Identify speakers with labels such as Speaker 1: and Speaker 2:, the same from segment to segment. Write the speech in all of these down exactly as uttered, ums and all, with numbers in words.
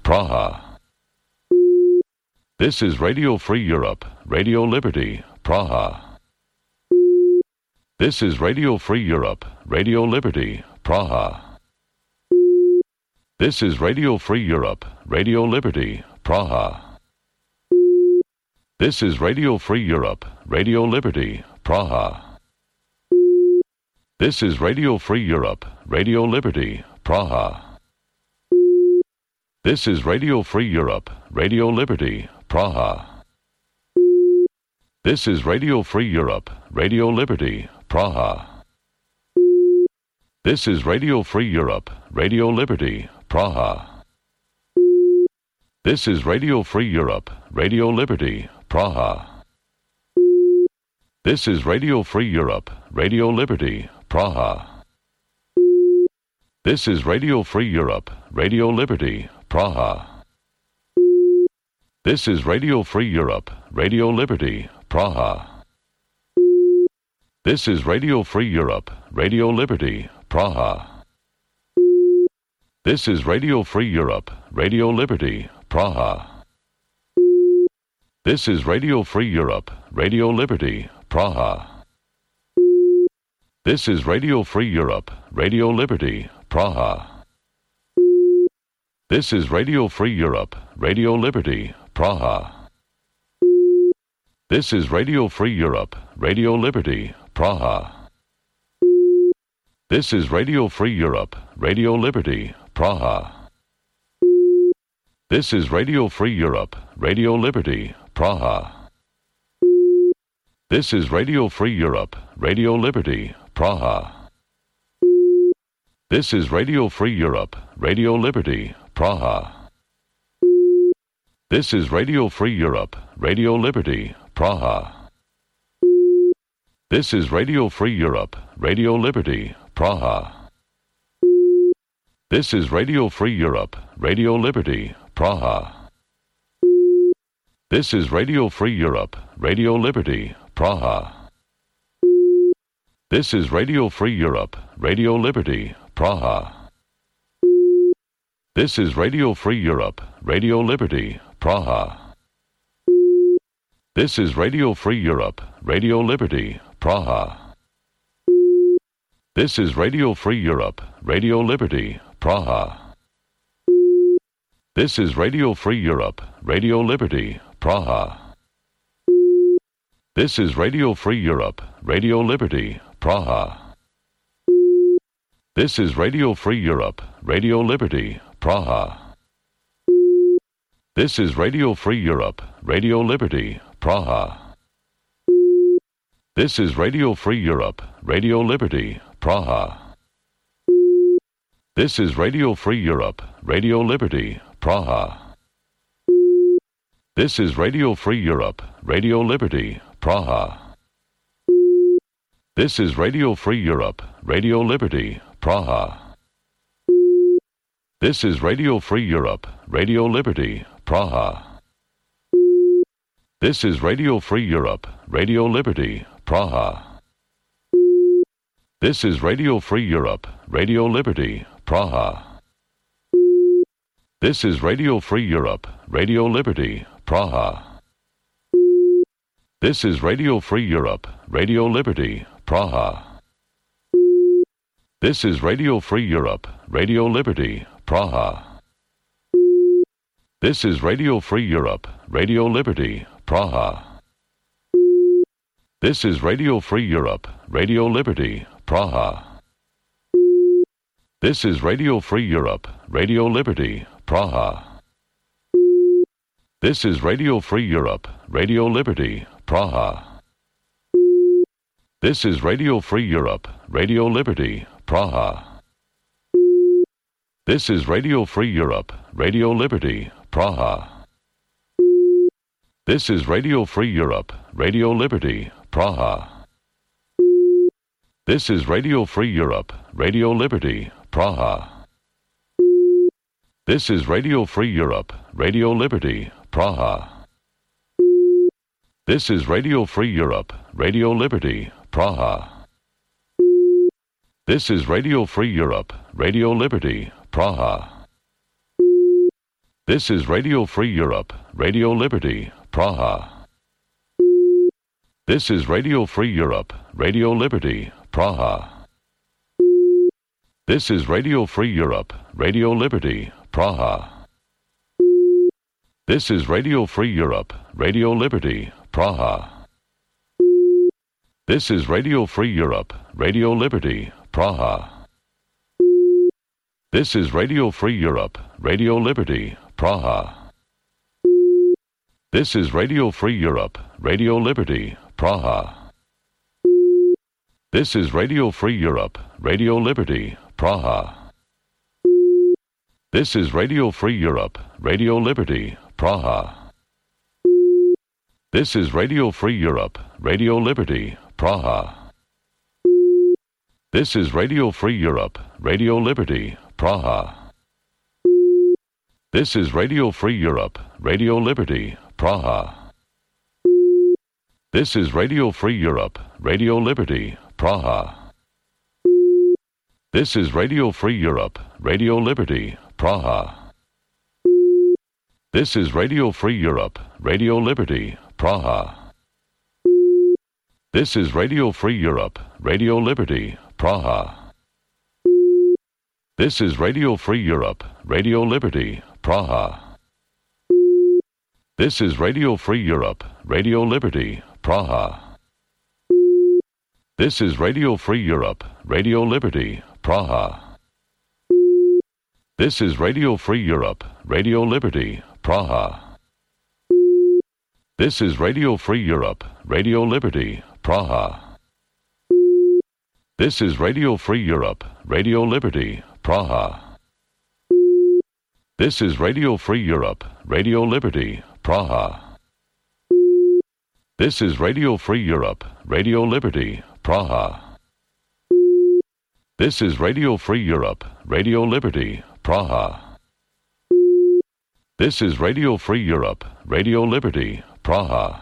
Speaker 1: Praha. This is Radio Free Europe, Radio Liberty, Praha. This is Radio Free Europe, Radio Liberty, Praha. This is Radio Free Europe, Radio Liberty, Praha. This is Radio Free Europe, Radio Liberty, Praha. This is Radio Free Europe, Radio Liberty, Praha. This is Radio Free Europe, Radio Liberty, Praha. This is Radio Free Europe, Radio Liberty, Praha. This is Radio Free Europe, Radio Liberty, Praha. This is Radio Free Europe, Radio Liberty, Praha. This is Radio Free Europe, Radio Liberty, Praha. This is Radio Free Europe, Radio Liberty, Praha. This is Radio Free Europe, Radio Liberty, Praha. This is Radio Free Europe, Radio Liberty, Praha. This is Radio Free Europe, Radio Liberty, Praha. This is Radio Free Europe, Radio Liberty, Praha. This is Radio Free Europe, Radio Liberty, Praha. This is Radio Free Europe, Radio Liberty, Praha. This is Radio Free Europe, Radio Liberty, Praha. This is Radio Free Europe, Radio Liberty, Praha. This is Radio Free Europe, Radio Liberty, Praha. This is Radio Free Europe, Radio Liberty, Praha. This is Radio Free Europe, Radio Liberty, Praha. This is Radio Free Europe, Radio Liberty, Praha. This is Radio Free Europe, Radio Liberty, Praha. This is Radio Free Europe, Radio Liberty, Praha. This is Radio Free Europe, Radio Liberty, Praha. This is Radio Free Europe, Radio Liberty, Praha. This is Radio Free Europe, Radio Liberty, Praha. This is Radio Free Europe, Radio Liberty, Praha. This is Radio Free Europe, Radio Liberty, Praha. This is Radio Free Europe, Radio Liberty, Praha. This is Radio Free Europe, Radio Liberty, Praha. This is Radio Free Europe, Radio Liberty, Praha. This is Radio Free Europe, Radio Liberty, Praha. This is Radio Free Europe, Radio Liberty, Praha. This is Radio Free Europe, Radio Liberty, Praha. This is Radio Free Europe, Radio Liberty, Praha. This is Radio Free Europe, Radio Liberty, Praha. This is Radio Free Europe, Radio Liberty, Praha. This is Radio Free Europe, Radio Liberty, Praha. This is Radio Free Europe, Radio Liberty, Praha. This is Radio Free Europe, Radio Liberty, Praha. This is Radio Free Europe, Radio Liberty, Praha. This is Radio Free Europe, Radio Liberty, Praha. This is Radio Free Europe, Radio Liberty, Praha. This is Radio Free Europe, Radio Liberty, Praha. This is Radio Free Europe, Radio Liberty, Praha. This is Radio Free Europe, Radio Liberty, Praha. This is Radio Free Europe, Radio Liberty, Praha. This is Radio Free Europe, Radio Liberty, Praha. This is Radio Free Europe, Radio Liberty, Praha. This is Radio Free Europe, Radio Liberty, Praha. This is Radio Free Europe, Radio Liberty, Praha. This is Radio Free Europe, Radio Liberty, Praha. This is Radio Free Europe, Radio Liberty, Praha. This is Radio Free Europe, Radio Liberty, Praha. This is Radio Free Europe, Radio Liberty, Praha. This is Radio Free Europe, Radio Liberty, Praha. This is Radio Free Europe, Radio Liberty, Praha. This is Radio Free Europe, Radio Liberty, Praha. This is Radio Free Europe, Radio Liberty, Praha. This is Radio Free Europe, Radio Liberty, Praha. This is Radio Free Europe, Radio Liberty, Praha. This is Radio Free Europe, Radio Liberty, Praha. This is Radio Free Europe, Radio Liberty, Praha. This is Radio Free Europe, Radio Liberty, Praha. This is Radio Free Europe, Radio Liberty, Praha. This is Radio Free Europe, Radio Liberty, Praha. This is Radio Free Europe, Radio Liberty, Praha. This is Radio Free Europe, Radio Liberty, Praha. This is Radio Free Europe, Radio Liberty, Praha. This is Radio Free Europe, Radio Liberty, Praha. This is Radio Free Europe, Radio Liberty, Praha. This is Radio Free Europe, Radio Liberty, Praha. This is Radio Free Europe, Radio Liberty, Praha. This is Radio Free Europe, Radio Liberty, Praha. This is Radio Free Europe, Radio Liberty, Praha. This is Radio Free Europe, Radio Liberty, Praha. This is Radio Free Europe, Radio Liberty, Praha. This is Radio Free Europe, Radio Liberty, Praha. This is Radio Free Europe, Radio Liberty, Praha.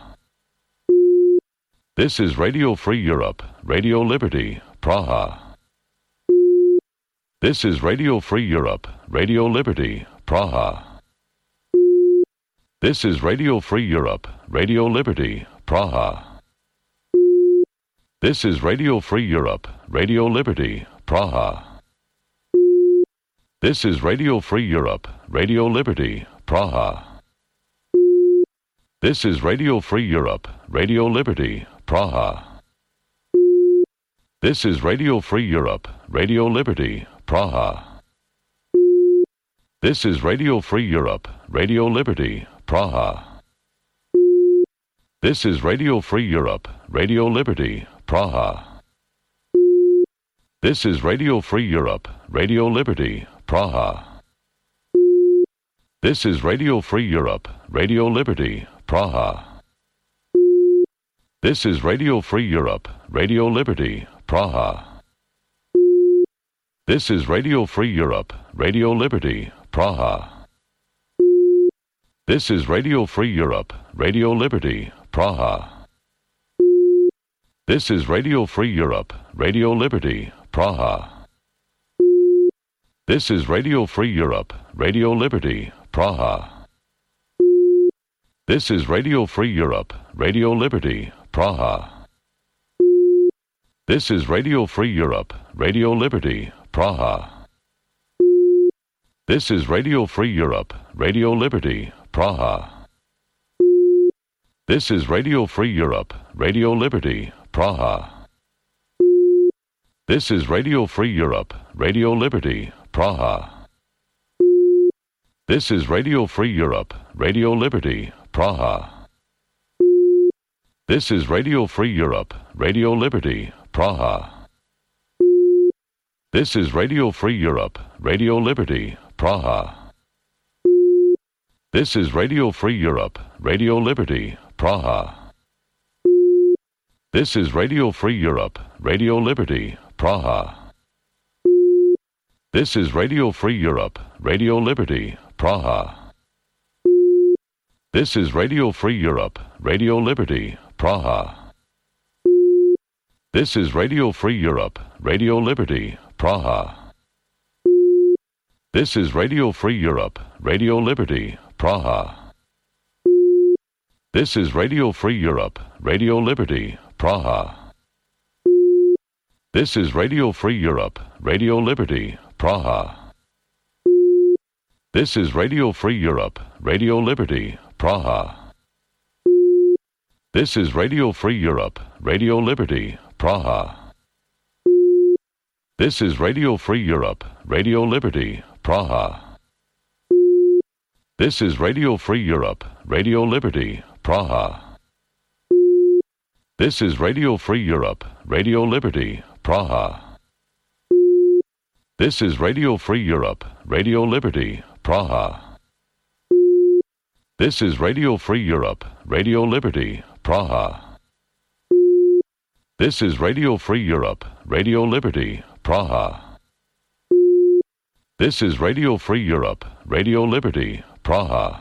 Speaker 1: This is Radio Free Europe, Radio Liberty, Praha. This is Radio Free Europe, Radio Liberty, Praha. This is Radio Free Europe, Radio Liberty, Praha. This is Radio Free Europe, Radio Liberty, Praha. This is Radio Free Europe, Radio Liberty, Praha. This is Radio Free Europe, Radio Liberty, Praha. This is Radio Free Europe, Radio Liberty, Praha. This is Radio Free Europe, Radio Liberty, Praha. This is Radio Free Europe, Radio Liberty, Praha. This is Radio Free Europe, Radio Liberty, Praha. This is Radio Free Europe, Radio Liberty, Praha. This is Radio Free Europe, Radio Liberty, Praha. This is Radio Free Europe, Radio Liberty, Praha. This is Radio Free Europe, Radio Liberty, Praha. This is Radio Free Europe, Radio Liberty, Praha. This is Radio Free Europe, Radio Liberty, Praha. This is Radio Free Europe, Radio Liberty, Praha. This is Radio Free Europe, Radio Liberty, Praha. This is Radio Free Europe, Radio Liberty, Praha. This is Radio Free Europe, Radio Liberty, Praha. This is Radio Free Europe, Radio Liberty, Praha. This is Radio Free Europe, Radio Liberty, Praha. This is Radio Free Europe, Radio Liberty, Praha. This is Radio Free Europe, Radio Liberty, Praha. This is Radio Free Europe, Radio Liberty, Praha. This is Radio Free Europe, Radio Liberty, Praha. This is Radio Free Europe, Radio Liberty, Praha. This is Radio Free Europe, Radio Liberty, Praha. This is Radio Free Europe, Radio Liberty, Praha. This is Radio Free Europe, Radio Liberty, Praha. This is Radio Free Europe, Radio Liberty, Praha. This is Radio Free Europe, Radio Liberty, Praha. This is Radio Free Europe, Radio Liberty, Praha. This is Radio Free Europe, Radio Liberty, Praha. This is Radio Free Europe, Radio Liberty, Praha. This is Radio Free Europe, Radio Liberty, Praha. This is Radio Free Europe, Radio Liberty, Praha. This is Radio Free Europe, Radio Liberty, Praha. This is Radio Free Europe, Radio Liberty, Praha. This is Radio Free Europe, Radio Liberty, Praha. This is Radio Free Europe, Radio Liberty, Praha.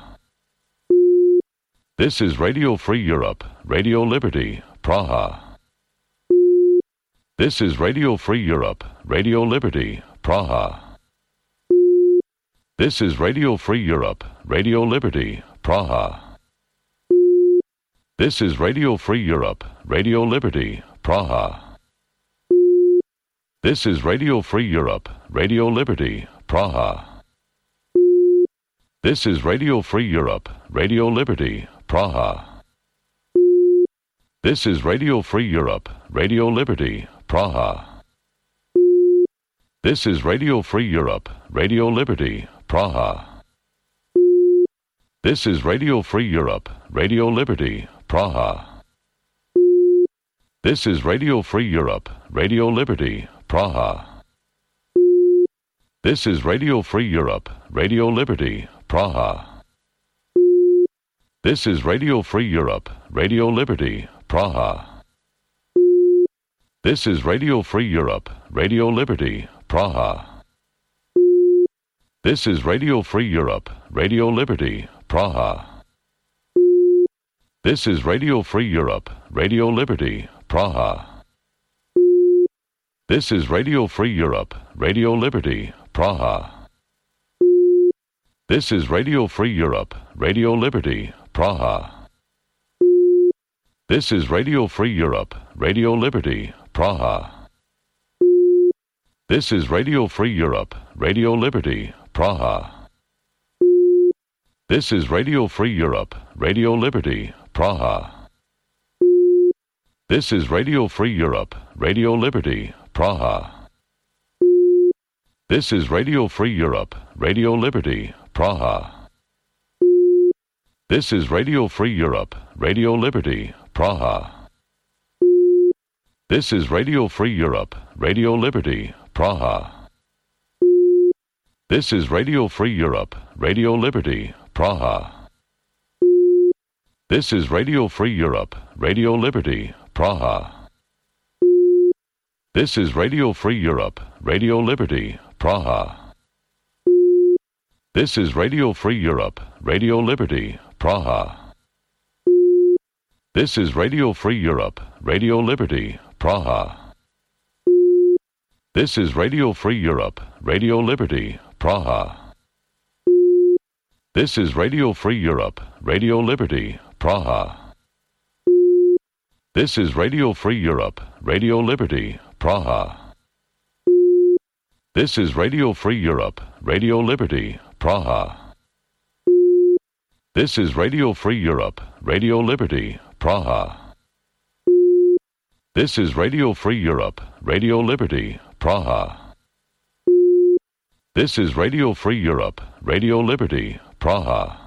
Speaker 1: This is Radio Free Europe, Radio Liberty, Praha. This is Radio Free Europe, Radio Liberty, Praha. This is Radio Free Europe, Radio Liberty, Praha. This is Radio Free Europe, Radio Liberty, Praha. This is Radio Free Europe, Radio Liberty, Praha. This is Radio Free Europe, Radio Liberty, Praha. This is Radio Free Europe, Radio Liberty, Praha. This is Radio Free Europe, Radio Liberty, Praha. This is Radio Free Europe, Radio Liberty, Praha. This is Radio Free Europe, Radio Liberty, Praha. This is Radio Free Europe, Radio Liberty, Praha. This is Radio Free Europe, Radio Liberty, Praha. This is Radio Free Europe, Radio Liberty, Praha. This is Radio Free Europe, Radio Liberty, Praha. This is Radio Free Europe, Radio Liberty, Praha. This is Radio Free Europe, Radio Liberty, Praha. This is Radio Free Europe, Radio Liberty, Praha. This is Radio Free Europe, Radio Liberty, Praha. This is Radio Free Europe, Radio Liberty, Praha. This is Radio Free Europe, Radio Liberty, Praha. This is Radio Free Europe, Radio Liberty, Praha. This is Radio Free Europe, Radio Liberty, Praha. This is Radio Free Europe, Radio Liberty, Praha. This is Radio Free Europe, Radio Liberty, Praha. This is Radio Free Europe, Radio Liberty, Praha. This is Radio Free Europe, Radio Liberty, Praha. This is Radio Free Europe, Radio Liberty, Praha. This is Radio Free Europe, Radio Liberty, Praha. This is Radio Free Europe, Radio Liberty, Praha. This is Radio Free Europe, Radio Liberty, Praha. This is Radio Free Europe, Radio Liberty, Praha. This is Radio Free Europe, Radio Liberty, Praha. This is Radio Free Europe, Radio Liberty, Praha. This is Radio Free Europe, Radio Liberty, Praha. This is Radio Free Europe, Radio Liberty, Praha. This is Radio Free Europe, Radio Liberty, Praha.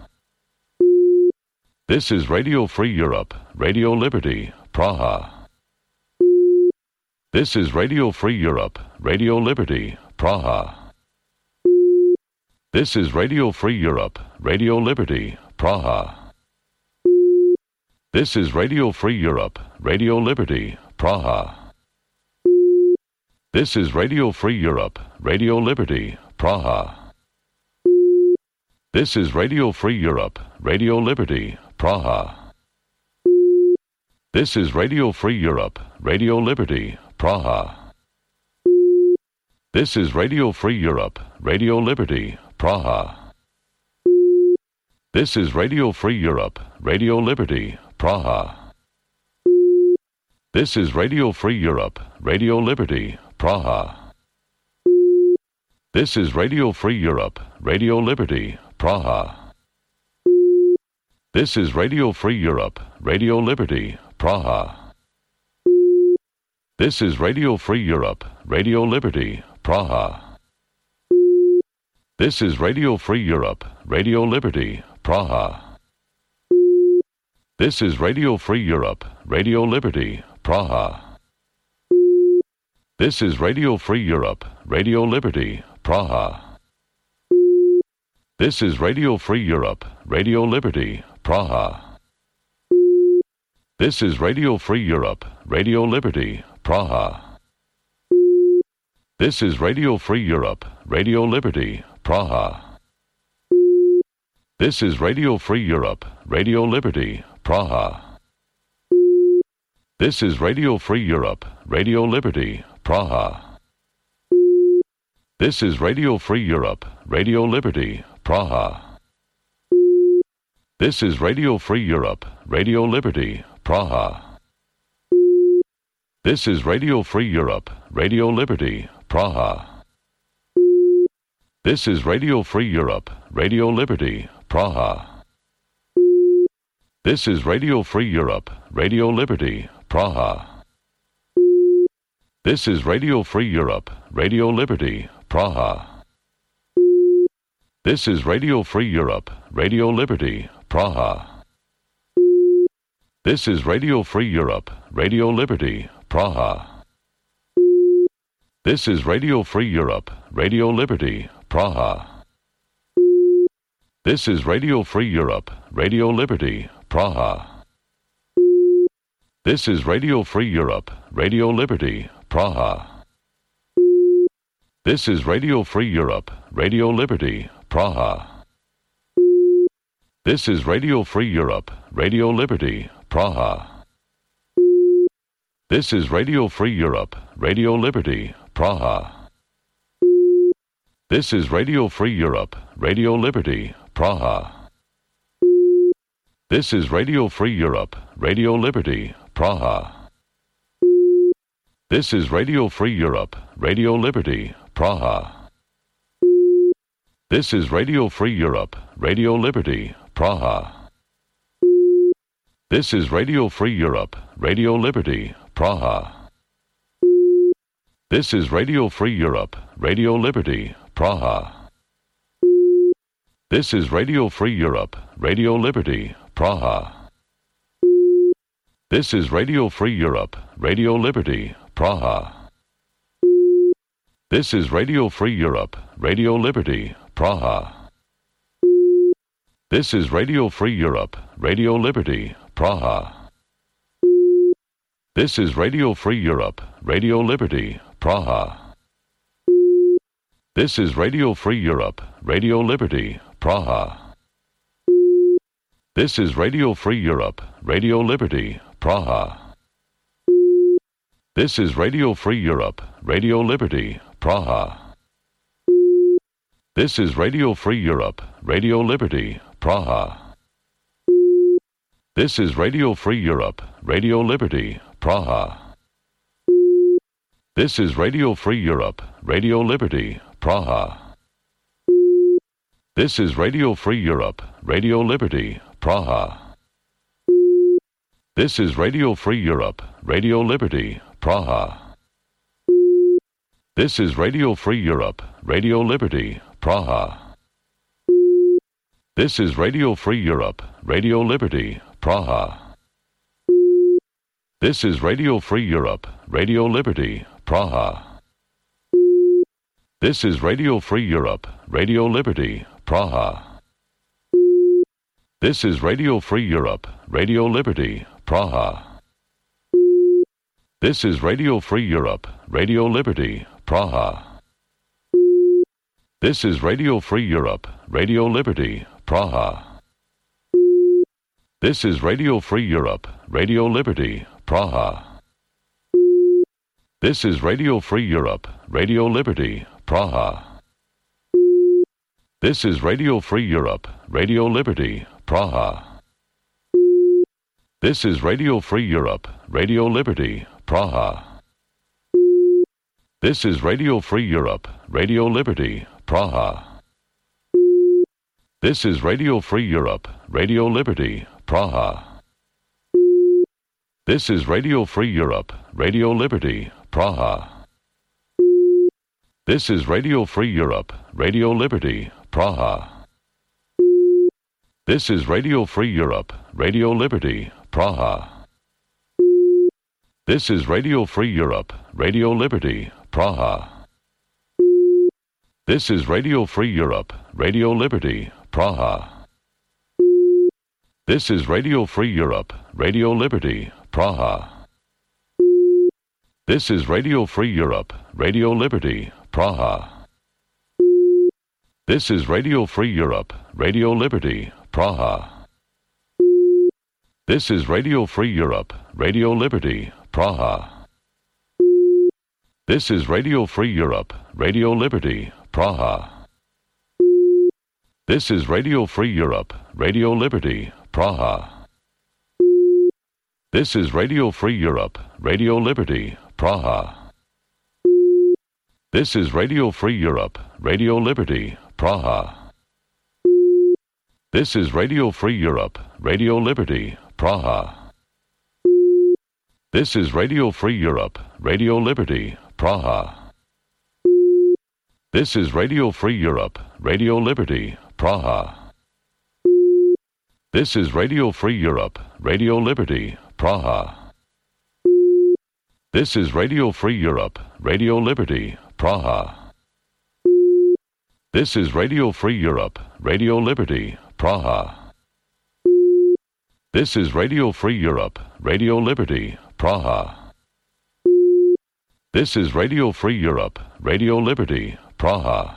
Speaker 1: This is Radio Free Europe, Radio Liberty, Praha. This is Radio Free Europe, Radio Liberty, Praha. This is Radio Free Europe, Radio Liberty, Praha. This is Radio Free Europe, Radio Liberty, Praha. This is Radio Free Europe, Radio Liberty, Praha. This is Radio Free Europe, Radio Liberty, Praha. This is Radio Free Europe, Radio Liberty, Praha. This is Radio Free Europe, Radio Liberty, Praha. This is Radio Free Europe, Radio Liberty, Praha. This is Radio Free Europe, Radio Liberty, Praha. This is Radio Free Europe, Radio Liberty, Praha. This is Radio Free Europe, Radio Liberty, Praha. This is Radio Free Europe, Radio Liberty, Praha. This is Radio Free Europe, Radio Liberty, Praha. This is Radio Free Europe, Radio Liberty, Praha. This is Radio Free Europe, Radio Liberty, Praha. This is Radio Free Europe, Radio Liberty, Praha. This is Radio Free Europe, Radio Liberty, Praha. This is Radio Free Europe, Radio Liberty, Praha. This is Radio Free Europe, Radio Liberty, Praha. This is Radio Free Europe, Radio Liberty, Praha. This is Radio Free Europe, Radio Liberty, Praha. This is Radio Free Europe, Radio Liberty, Praha. This is Radio Free Europe, Radio Liberty, Praha. This is Radio Free Europe, Radio Liberty, Praha. This is Radio Free Europe, Radio Liberty, Praha. This is Radio Free Europe, Radio Liberty, Praha. This is Radio Free Europe, Radio Liberty, Praha. This is Radio Free Europe, Radio Liberty, Praha. This is Radio Free Europe, Radio Liberty, Praha. This is Radio Free Europe, Radio Liberty, Praha. This is Radio Free Europe, Radio Liberty, Praha. This is Radio Free Europe, Radio Liberty, Praha. This is Radio Free Europe, Radio Liberty, Praha. This is Radio Free Europe, Radio Liberty, Praha. This is Radio Free Europe, Radio Liberty, Praha. This is Radio Free Europe, Radio Liberty, Praha. This is Radio Free Europe, Radio Liberty, Praha. This is Radio Free Europe, Radio Liberty, Praha. This is Radio Free Europe, Radio Liberty, Praha. This is Radio Free Europe, Radio Liberty, Praha. This is Radio Free Europe, Radio Liberty, Praha. This is Radio Free Europe, Radio Liberty, Praha. This is Radio Free Europe, Radio Liberty, Praha. This is Radio Free Europe, Radio Liberty, Praha. This is Radio Free Europe, Radio Liberty, Praha. This is Radio Free Europe, Radio Liberty, Praha. This is Radio Free Europe, Radio Liberty, Praha. This is Radio Free Europe, Radio Liberty, Praha. This is Radio Free Europe, Radio Liberty, Praha. This is Radio Free Europe, Radio Liberty, Praha. This is Radio Free Europe, Radio Liberty, Praha. This is Radio Free Europe, Radio Liberty, Praha. This is Radio Free Europe, Radio Liberty, Praha. This is Radio Free Europe, Radio Liberty, Praha. This is Radio Free Europe, Radio Liberty, Praha. This is Radio Free Europe, Radio Liberty, Praha. This is Radio Free Europe, Radio Liberty, Praha. This is Radio Free Europe, Radio Liberty, Praha. This is Radio Free Europe, Radio Liberty, Praha. This is Radio Free Europe, Radio Liberty, Praha. This is Radio Free Europe, Radio Liberty, Praha. This is Radio Free Europe, Radio Liberty, Praha. This is Radio Free Europe, Radio Liberty, Praha. This is Radio Free Europe, Radio Liberty, Praha. This is Radio Free Europe, Radio Liberty, Praha. This is Radio Free Europe, Radio Liberty, Praha. This is Radio Free Europe, Radio Liberty, Praha. This is Radio Free Europe, Radio Liberty, Praha. This is Radio Free Europe, Radio Liberty, Praha. This is Radio Free Europe, Radio Liberty, Praha. This is Radio Free Europe, Radio Liberty, Praha. This is Radio Free Europe, Radio Liberty, Praha. This is Radio Free Europe, Radio Liberty, Praha. This is Radio Free Europe, Radio Liberty, Praha. This is Radio Free Europe, Radio Liberty, Praha. This is Radio Free Europe, Radio Liberty, Praha. This is Radio Free Europe, Radio Liberty, Praha. This is Radio Free Europe, Radio Liberty, Praha. This is Radio Free Europe, Radio Liberty, Praha. This is Radio Free Europe, Radio Liberty, Praha. This is Radio Free Europe, Radio Liberty, Praha. This is Radio Free Europe, Radio Liberty, Praha. This is Radio Free Europe, Radio Liberty, Praha. This is Radio Free Europe, Radio Liberty, Praha. This is Radio Free Europe, Radio Liberty, Praha. This is Radio Free Europe, Radio Liberty, Praha. This is Radio Free Europe, Radio Liberty, Praha.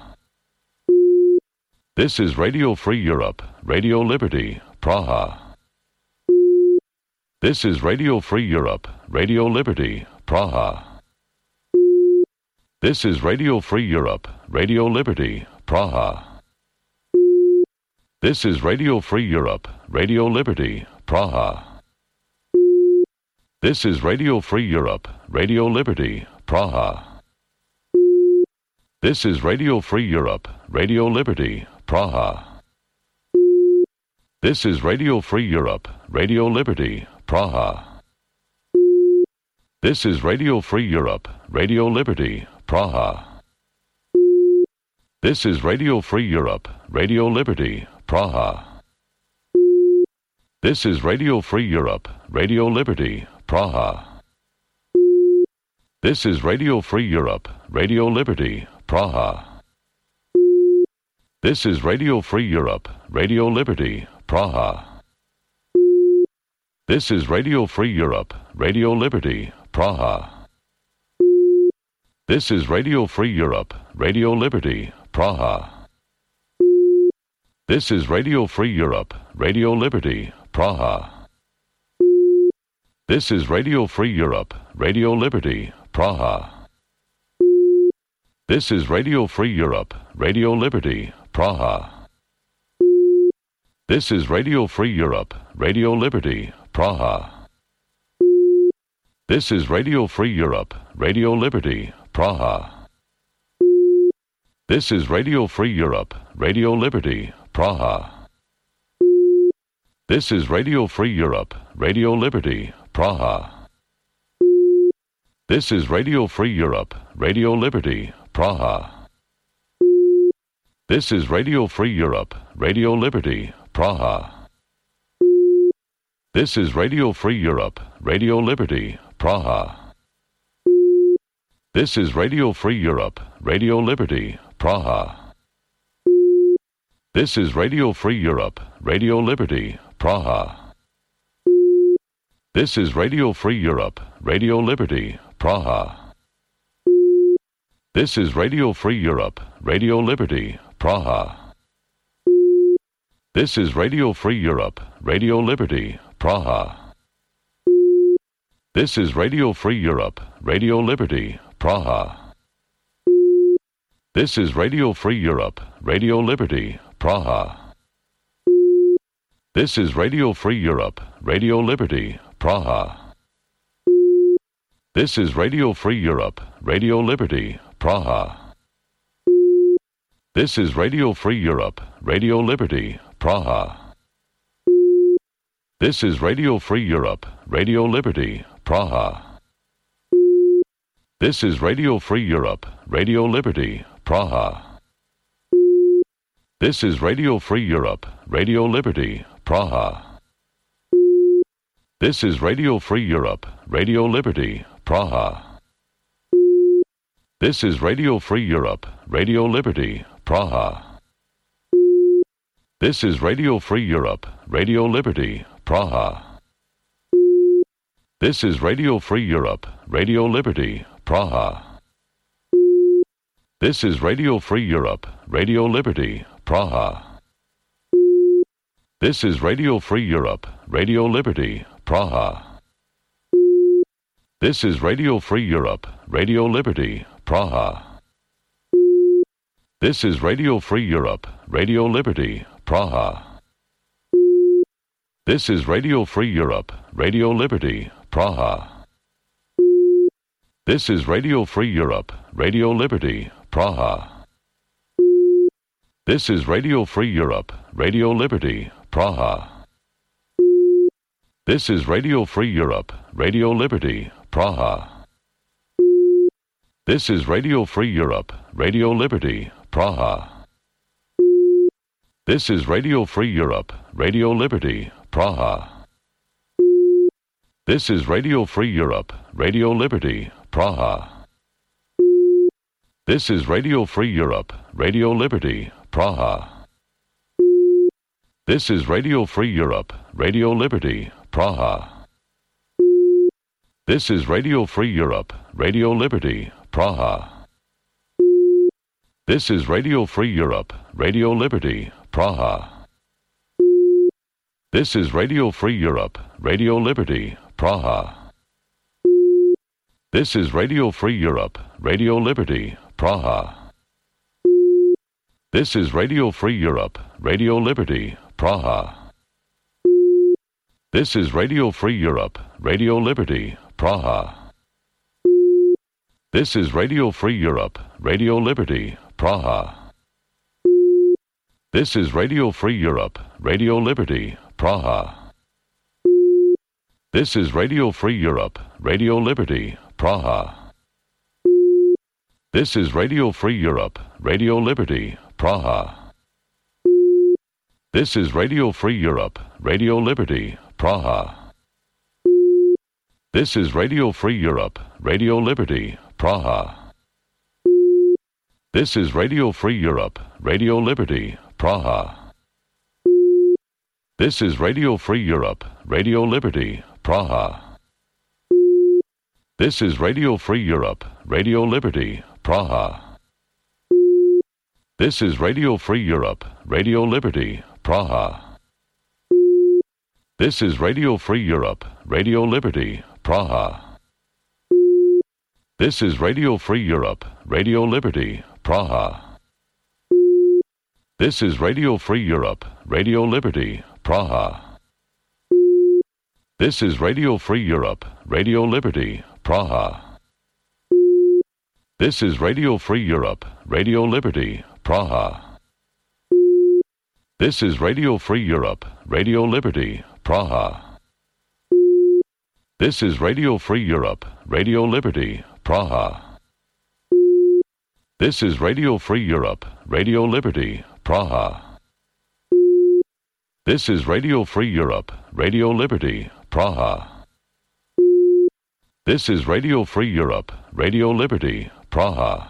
Speaker 1: This is Radio Free Europe, Radio Liberty, Praha. This is Radio Free Europe, Radio Liberty, Praha. This is Radio Free Europe, Radio Liberty, Praha. This is Radio Free Europe, Radio Liberty, Praha. This is Radio Free Europe, Radio Liberty, Praha. This is Radio Free Europe, Radio Liberty, Praha. This is Radio Free Europe, Radio Liberty, Praha. This is Radio Free Europe, Radio Liberty, Praha. This is Radio Free Europe, Radio Liberty, Praha. This is Radio Free Europe, Radio Liberty, Praha. This is Radio Free Europe, Radio Liberty, Praha. This is Radio Free Europe, Radio Liberty, Praha. This is Radio Free Europe, Radio Liberty, Praha. This is Radio Free Europe, Radio Liberty, Praha. This is Radio Free Europe, Radio Liberty, Praha. This is Radio Free Europe, Radio Liberty, Praha. This is Radio Free Europe, Radio Liberty, Praha. This is Radio Free Europe, Radio Liberty, Praha. This is Radio Free Europe, Radio Liberty, Praha. This is Radio Free Europe, Radio Liberty, Praha. This is Radio Free Europe, Radio Liberty, Praha. This is Radio Free Europe, Radio Liberty, Praha. This is Radio Free Europe, Radio Liberty, Praha. This is Radio Free Europe, Radio Liberty, Praha. This is Radio Free Europe, Radio Liberty, Praha. This is Radio Free Europe, Radio Liberty, Praha. This is Radio Free Europe, Radio Liberty, Praha. This is Radio Free Europe, Radio Liberty, Praha. This is Radio Free Europe, Radio Liberty, Praha. This is Radio Free Europe, Radio Liberty, Praha. This is Radio Free Europe, Radio Liberty, Praha. This is Radio Free Europe, Radio Liberty, Praha. This is Radio Free Europe, Radio Liberty, Praha. This is Radio Free Europe, Radio Liberty, Praha. This is Radio Free Europe, Radio Liberty, Praha. This is Radio Free Europe, Radio Liberty, Praha. This is Radio Free Europe, Radio Liberty, Praha. This is Radio Free Europe, Radio Liberty, Praha. This is Radio Free Europe, Radio Liberty, Praha. This is Radio Free Europe, Radio Liberty, Praha. This is Radio Free Europe, Radio Liberty, Praha. This is Radio Free Europe, Radio Liberty, Praha. This is Radio Free Europe, Radio Liberty, Praha. This is Radio Free Europe, Radio Liberty, Praha. This is Radio Free Europe, Radio Liberty, Praha. This is Radio Free Europe, Radio Liberty, Praha. This is Radio Free Europe, Radio Liberty, Praha. This is Radio Free Europe, Radio Liberty, Praha. This is Radio Free Europe, Radio Liberty, Praha. This is Radio Free Europe, Radio Liberty, Praha. This is Radio Free Europe, Radio Liberty, Praha. This is Radio Free Europe, Radio Liberty, Praha. This is Radio Free Europe, Radio Liberty, Praha. This is Radio Free Europe, Radio Liberty, Praha. This is Radio Free Europe, Radio Liberty, Praha. This is Radio Free Europe, Radio Liberty, Praha. This is Radio Free Europe, Radio Liberty, Praha. This is Radio Free Europe, Radio Liberty, Praha. This is Radio Free Europe, Radio Liberty, Praha. This is Radio Free Europe, Radio Liberty, Praha. This is Radio Free Europe, Radio Liberty, Praha. This is Radio Free Europe, Radio Liberty, Praha. This is Radio Free Europe, Radio Liberty, Praha. This is Radio Free Europe, Radio Liberty, Praha. This is Radio Free Europe, Radio Liberty, Praha. This is Radio Free Europe, Radio Liberty, Praha. This is Radio Free Europe, Radio Liberty, Praha. This is Radio Free Europe, Radio Liberty, Praha. This is Radio Free Europe, Radio Liberty, Praha. This is Radio Free Europe, Radio Liberty, Praha. This is Radio Free Europe, Radio Liberty, Praha. This is Radio Free Europe, Radio Liberty, Praha. This is Radio Free Europe, Radio Liberty, Praha. This is Radio Free Europe, Radio Liberty, Praha. This is Radio Free Europe, Radio Liberty, Praha. This is Radio Free Europe, Radio Liberty, Praha. This is Radio Free Europe, Radio Liberty, Praha. This is Radio Free Europe, Radio Liberty, Praha. This is Radio Free Europe, Radio Liberty, Praha. This is Radio Free Europe, Radio Liberty, Praha.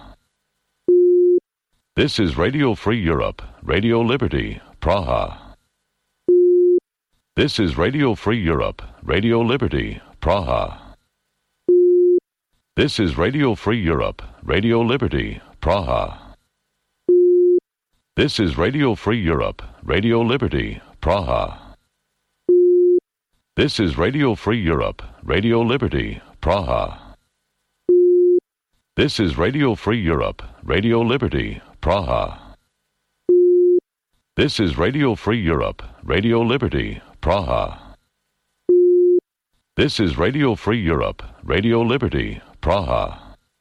Speaker 1: This is Radio Free Europe, Radio Liberty, Praha. This is Radio Free Europe, Radio Liberty, Praha. This is Radio Free Europe, Radio Liberty, Praha. This is Radio Free Europe, Radio Liberty, Praha. This is Radio Free Europe, Radio Liberty, Praha. This is Radio Free Europe, Radio Liberty, Praha. This is Radio Free Europe, Radio Liberty, Praha. This is Radio Free Europe, Radio Liberty, Praha.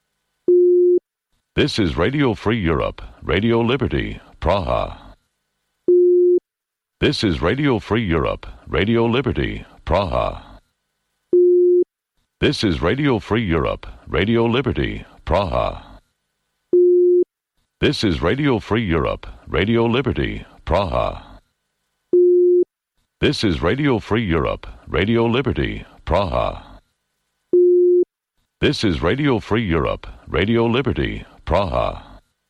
Speaker 1: This is Radio Free Europe, Radio Liberty, Praha. This is Radio Free Europe, Radio Liberty, Praha. This is Radio Free Europe, Radio Liberty, Praha. This is Radio Free Europe, Radio Liberty, Praha. This is Radio Free Europe, Radio Liberty, Praha. This is Radio Free Europe, Radio Liberty, Praha.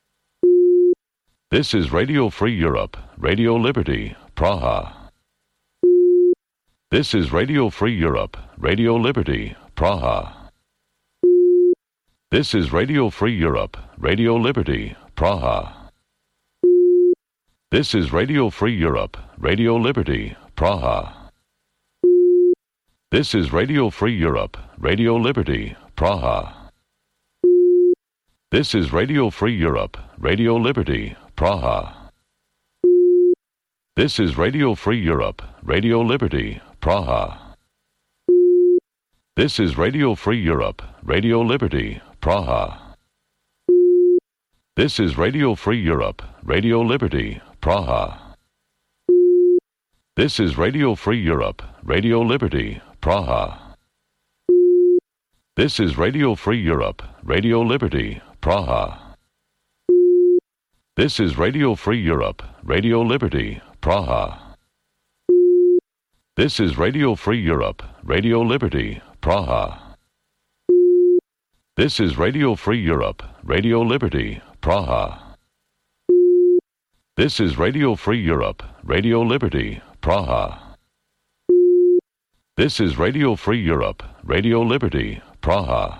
Speaker 1: This is Radio Free Europe, Radio Liberty, Praha. This is Radio Free Europe, Radio Liberty, Praha. This is Radio Free Europe, Radio Liberty, Praha. This is Radio Free Europe, Radio Liberty, Praha. This is Radio Free Europe, Radio Liberty, Praha. This is Radio Free Europe, Radio Liberty, Praha. This is Radio Free Europe, Radio Liberty, Praha. This is Radio Free Europe, Radio Liberty, Praha. This is Radio Free Europe, Radio Liberty, Praha. This is Radio Free Europe, Radio Liberty, Praha. This is Radio Free Europe, Radio Liberty, Praha. This is Radio Free Europe, Radio Liberty, Praha. This is Radio Free Europe, Radio Liberty, Praha. This is Radio Free Europe, Radio Liberty, Praha. This is Radio Free Europe, Radio Liberty, Praha. This is Radio Free Europe, Radio Liberty, Praha.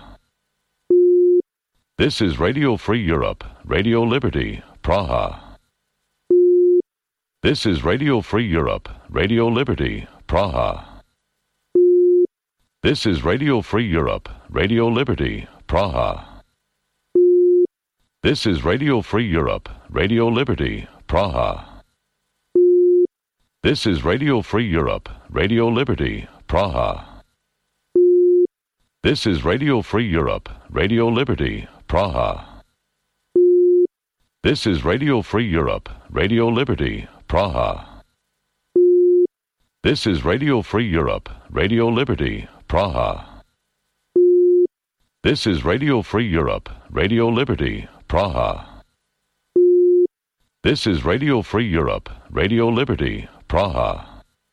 Speaker 1: This is Radio Free Europe, Radio Liberty, Praha. This is Radio Free Europe, Radio Liberty, Praha. This is Radio Free Europe, Radio Liberty, Praha. This is Radio Free Europe, Radio Liberty, Praha. This is Radio Free Europe, Radio Liberty, Praha. This is Radio Free Europe, Radio Liberty, Praha. This is Radio Free Europe, Radio Liberty, Praha. This is Radio Free Europe, Radio Liberty, Praha. This is Radio Free Europe, Radio Liberty, Praha. This is Radio Free Europe, Radio Liberty, Praha.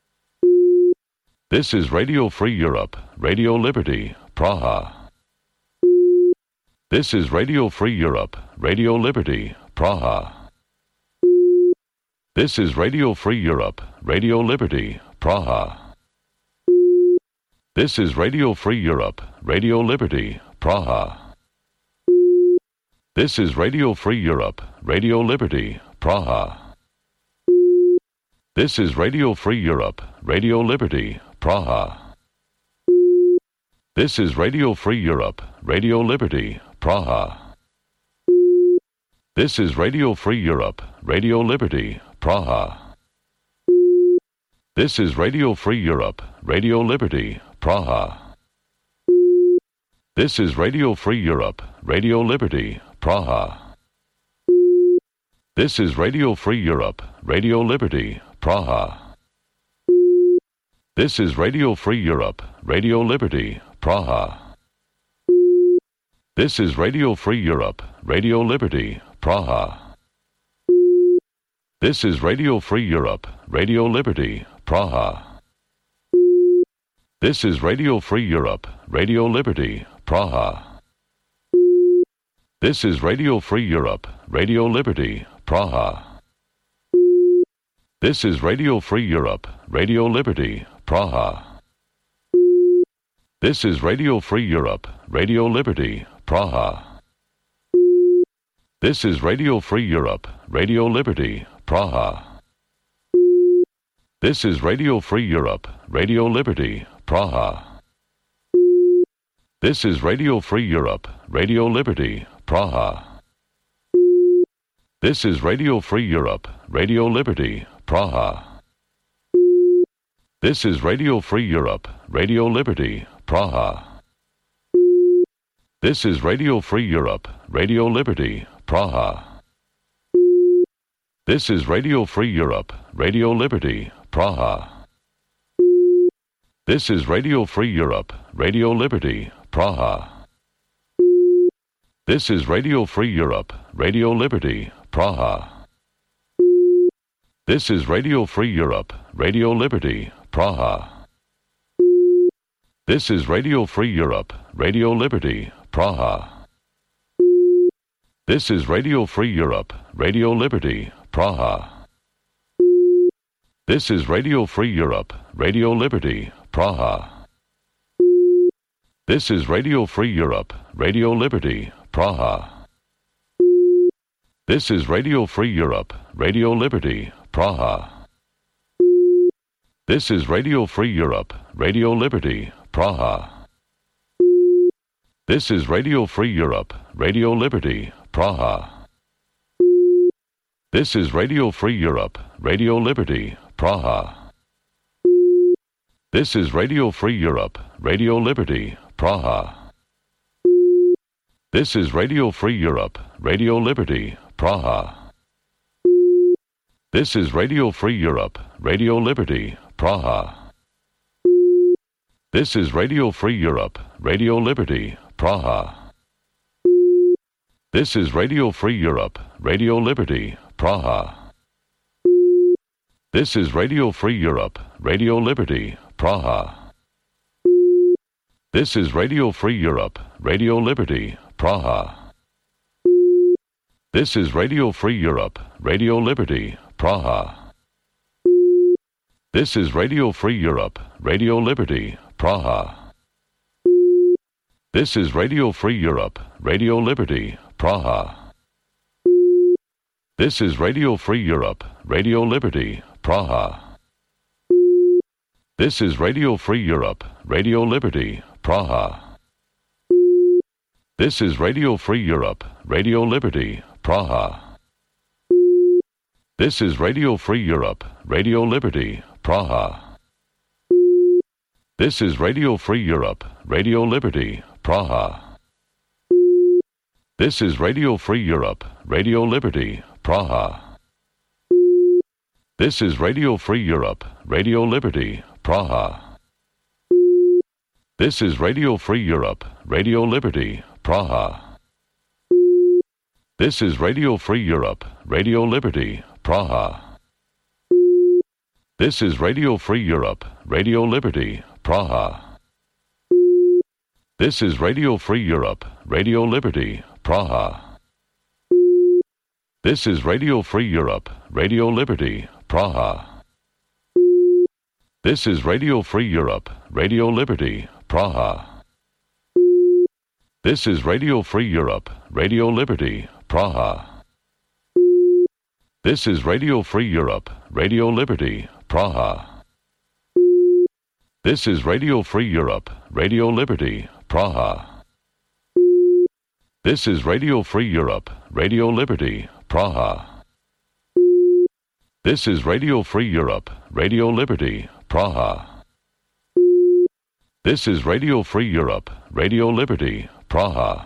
Speaker 1: This is Radio Free Europe, Radio Liberty, Praha. This is Radio Free Europe, Radio Liberty, Praha. This is Radio Free Europe, Radio Liberty, Praha. This is Radio Free Europe, Radio Liberty, Praha. This is Radio Free Europe, Radio Liberty, Praha. This is Radio Free Europe, Radio Liberty, Praha. This is Radio Free Europe, Radio Liberty, Praha. This is Radio Free Europe, Radio Liberty, Praha. This is Radio Free Europe, Radio Liberty, Praha. This is Radio Free Europe, Radio Liberty, Praha. This is Radio Free Europe, Radio Liberty, Praha. This is Radio Free Europe, Radio Liberty, Praha. This is Radio Free Europe, Radio Liberty, Praha. This is Radio Free Europe, Radio Liberty, Praha. This is Radio Free Europe, Radio Liberty, Praha. This is Radio Free Europe, Radio Liberty, Praha. This is Radio Free Europe, Radio Liberty, Praha. This is Radio Free Europe, Radio Liberty, Praha. This is Radio Free Europe, Radio Liberty, Praha. This is Radio Free Europe, Radio Liberty, Praha. This is Radio Free Europe, Radio Liberty, Praha. This is Radio Free Europe, Radio Liberty, Praha. This is Radio Free Europe, Radio Liberty, Praha. This is Radio Free Europe, Radio Liberty, Praha. This is Radio Free Europe, Radio Liberty, Praha. This is Radio Free Europe, Radio Liberty, Praha. This is Radio Free Europe, Radio Liberty, Praha. This is Radio Free Europe, Radio Liberty, Praha. This is Radio Free Europe, Radio Liberty, Praha. This is Radio Free Europe, Radio Liberty, Praha. This is Radio Free Europe, Radio Liberty, Praha. This is Radio Free Europe, Radio Liberty, Praha. This is Radio Free Europe, Radio Liberty, Praha. This is Radio Free Europe, Radio Liberty, Praha. This is Radio Free Europe, Radio Liberty, Praha. This is Radio Free Europe, Radio Liberty, Praha. This is Radio Free Europe, Radio Liberty, Praha. This is Radio Free Europe, Radio Liberty, Praha. This is Radio Free Europe, Radio Liberty, Praha. This is Radio Free Europe, Radio Liberty, Praha. This is Radio Free Europe, Radio Liberty, Praha. This is Radio Free Europe, Radio Liberty, Praha. This is Radio Free Europe, Radio Liberty, Praha. This is Radio Free Europe, Radio Liberty, Praha. This is Radio Free Europe, Radio Liberty, Praha. This is Radio Free Europe, Radio Liberty, Praha. This is Radio Free Europe, Radio Liberty, Praha. This is Radio Free Europe, Radio Liberty, Praha. This is Radio Free Europe, Radio Liberty, Praha. This is Radio Free Europe, Radio Liberty, Praha. This is Radio Free Europe, Radio Liberty, Praha. This is Radio Free Europe, Radio Liberty, Praha. This is Radio Free Europe, Radio Liberty, Praha. This is Radio Free Europe, Radio Liberty, Praha. This is Radio Free Europe, Radio Liberty, Praha. This is Radio Free Europe, Radio Liberty, Praha. This is Radio Free Europe, Radio Liberty, Praha. This is Radio Free Europe, Radio Liberty, Praha. This is Radio Free Europe, Radio Liberty, Praha. This is Radio Free Europe, Radio Liberty, Praha. This is Radio Free Europe, Radio Liberty, Praha. This is Radio Free Europe, Radio Liberty, Praha. This is Radio Free Europe, Radio Liberty, Praha. This is Radio Free Europe, Radio Liberty, Praha. This is Radio Free Europe, Radio Liberty, Praha.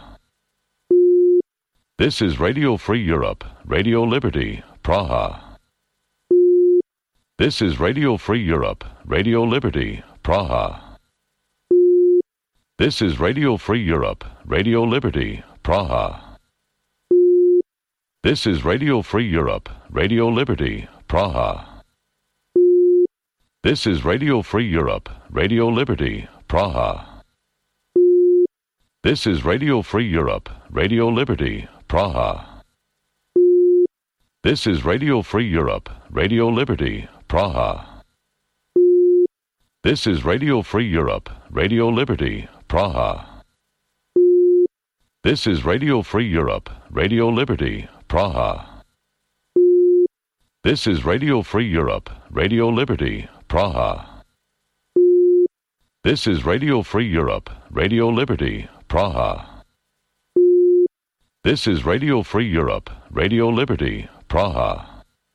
Speaker 1: This is Radio Free Europe, Radio Liberty, Praha. This is Radio Free Europe, Radio Liberty, Praha. This is Radio Free Europe, Radio Liberty, Praha. This is Radio Free Europe, Radio Liberty, Praha. This is Radio Free Europe, Radio Liberty, Praha. This is Radio Free Europe, Radio Liberty, Praha. This is Radio Free Europe, Radio Liberty, Praha. This is Radio Free Europe, Radio Liberty, Praha. This is Radio Free Europe, Radio Liberty, Praha. This is Radio Free Europe, Radio Liberty, Praha. This is Radio Free Europe, Radio Liberty, Praha. This is Radio Free Europe, Radio Liberty, Praha.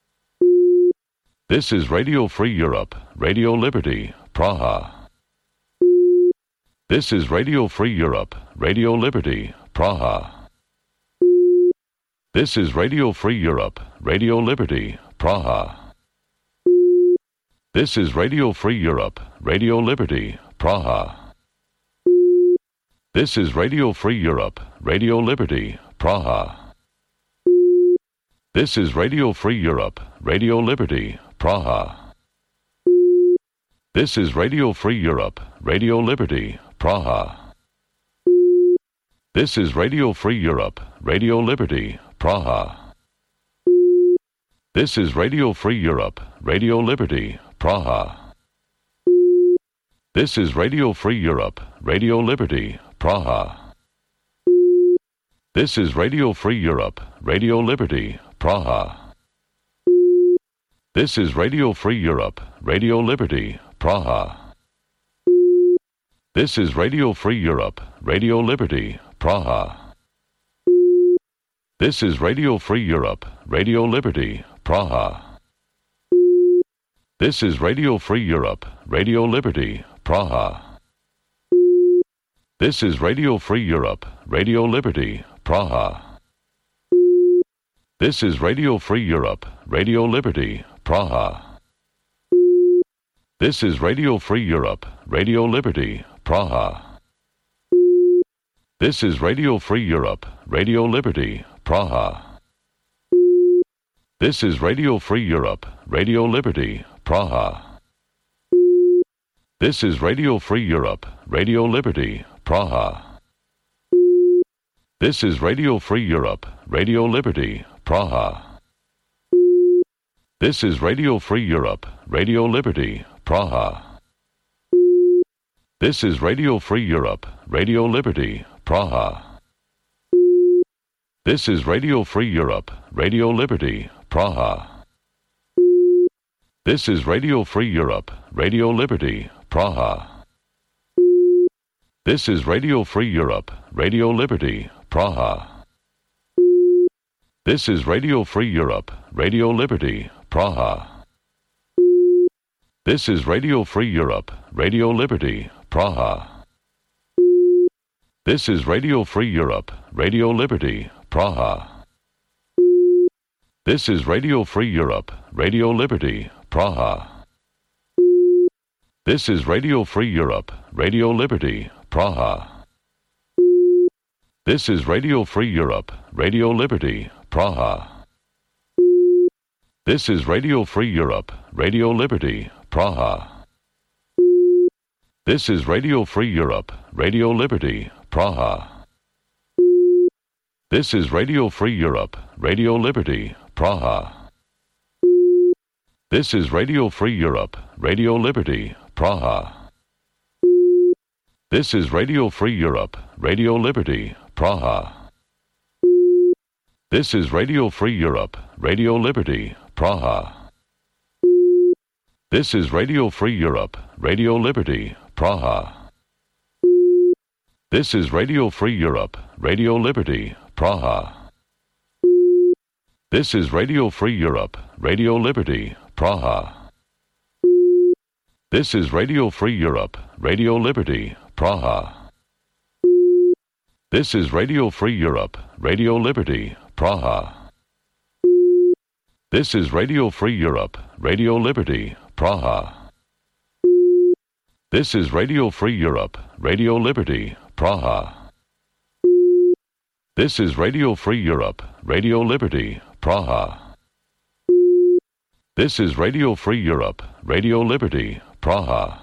Speaker 1: This is Radio Free Europe, Radio Liberty, Praha. This is Radio Free Europe, Radio Liberty, Praha. This is Radio Free Europe, Radio Liberty, Praha. This is Radio Free Europe, Radio Liberty, Praha. This is Radio Free Europe, Radio Liberty, Praha. This is Radio Free Europe, Radio Liberty, Praha. This is Radio Free Europe, Radio Liberty, Praha. This is Radio Free Europe, Radio Liberty, Praha. This is Radio Free Europe, Radio Liberty, Praha. This is Radio Free Europe, Radio Liberty, Praha. This is Radio Free Europe, Radio Liberty, Praha. This is Radio Free Europe, Radio Liberty, Praha. This is Radio Free Europe, Radio Liberty, Praha. This is Radio Free Europe, Radio Liberty, Praha. This is Radio Free Europe, Radio Liberty, Praha. This is Radio Free Europe, Radio Liberty, Praha. This is Radio Free Europe, Radio Liberty, Praha. This is Radio Free Europe, Radio Liberty, Praha. This is Radio Free Europe, Radio Liberty, Praha. This is Radio Free Europe, Radio Liberty, Praha. This is Radio Free Europe, Radio Liberty, Praha. This is Radio Free Europe, Radio Liberty, Praha. This is Radio Free Europe, Radio Liberty, Praha. This is Radio Free Europe, Radio Liberty, Praha. This is Radio Free Europe, Radio Liberty, Praha. This is Radio Free Europe, Radio Liberty, Praha. This is Radio Free Europe, Radio Liberty, Praha. This is Radio Free Europe, Radio Liberty, Praha. This is Radio Free Europe, Radio Liberty, Praha. This is Radio Free Europe, Radio Liberty, Praha. This is Radio Free Europe, Radio Liberty, Praha. This is Radio Free Europe, Radio Liberty, Praha. This is Radio Free Europe, Radio Liberty, Praha. This is Radio Free Europe, Radio Liberty, Praha. This is Radio Free Europe, Radio Liberty, Praha. This is Radio Free Europe, Radio Liberty, Praha. This is Radio Free Europe, Radio Liberty, Praha. This is Radio Free Europe, Radio Liberty, Praha. This is Radio Free Europe, Radio Liberty, Praha. This is Radio Free Europe, Radio Liberty, Praha. This is Radio Free Europe, Radio Liberty, Praha. This is Radio Free Europe, Radio Liberty, Praha. This is Radio Free Europe, Radio Liberty, Praha. This is Radio Free Europe, Radio Liberty, Praha. This is Radio Free Europe, Radio Liberty, Praha. This is Radio Free Europe, Radio Liberty, Praha. This is Radio Free Europe, Radio Liberty, Praha. This is Radio Free Europe, Radio Liberty, Praha.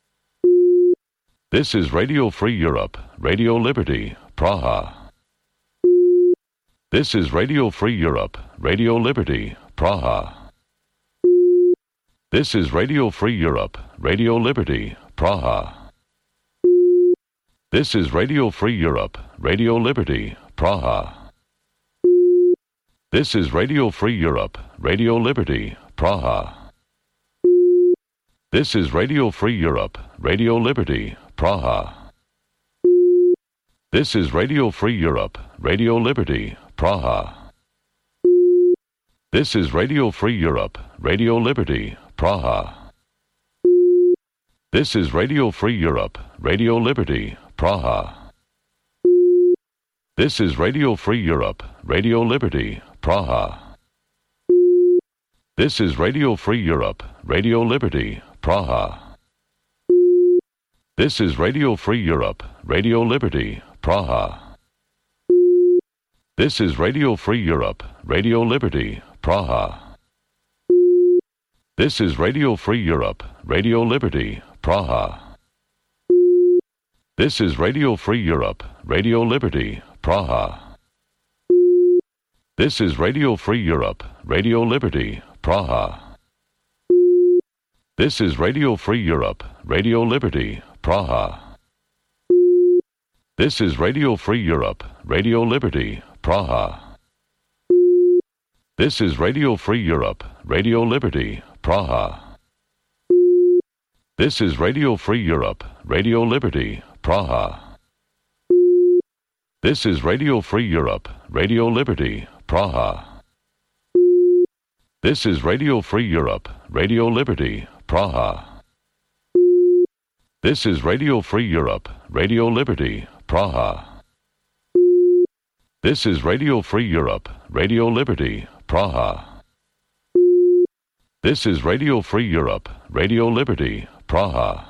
Speaker 1: This is Radio Free Europe, Radio Liberty, Praha. This is Radio Free Europe, Radio Liberty, Praha. This is Radio Free Europe, Radio Liberty, Praha. This is Radio Free Europe, Radio Liberty, Praha. This is Radio Free Europe, Radio Liberty, Praha. This is Radio Free Europe, Radio Liberty, Praha. This is Radio Free Europe, Radio Liberty, Praha. This is Radio Free Europe, Radio Liberty, Praha. This is Radio Free Europe, Radio Liberty, Praha. This is Radio Free Europe, Radio Liberty, Praha. This is Radio Free Europe, Radio Liberty, Praha. This is Radio Free Europe, Radio Liberty, Praha. This is Radio Free Europe, Radio Liberty, Praha. This is Radio Free Europe, Radio Liberty, Praha. This is Radio Free Europe, Radio Liberty, Praha. This is Radio Free Europe, Radio Liberty, Praha. This is Radio Free Europe, Radio Liberty, Praha. This is Radio Free Europe, Radio Liberty, Praha. This is Radio Free Europe, Radio Liberty, Praha. This is Radio Free Europe, Radio Liberty, Praha. This is Radio Free Europe, Radio Liberty, Praha. This is Radio Free Europe, Radio Liberty, Praha. This is Radio Free Europe, Radio Liberty, Praha. This is Radio Free Europe, Radio Liberty, Praha. This is Radio Free Europe, Radio Liberty, Praha.